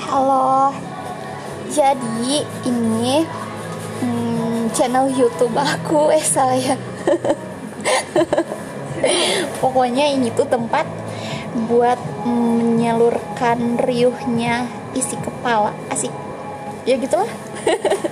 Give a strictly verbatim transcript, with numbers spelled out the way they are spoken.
Halo, jadi ini hmm, channel YouTube aku, eh salah ya. Pokoknya ini tuh tempat buat menyalurkan riuhnya isi kepala, asik. Ya gitulah.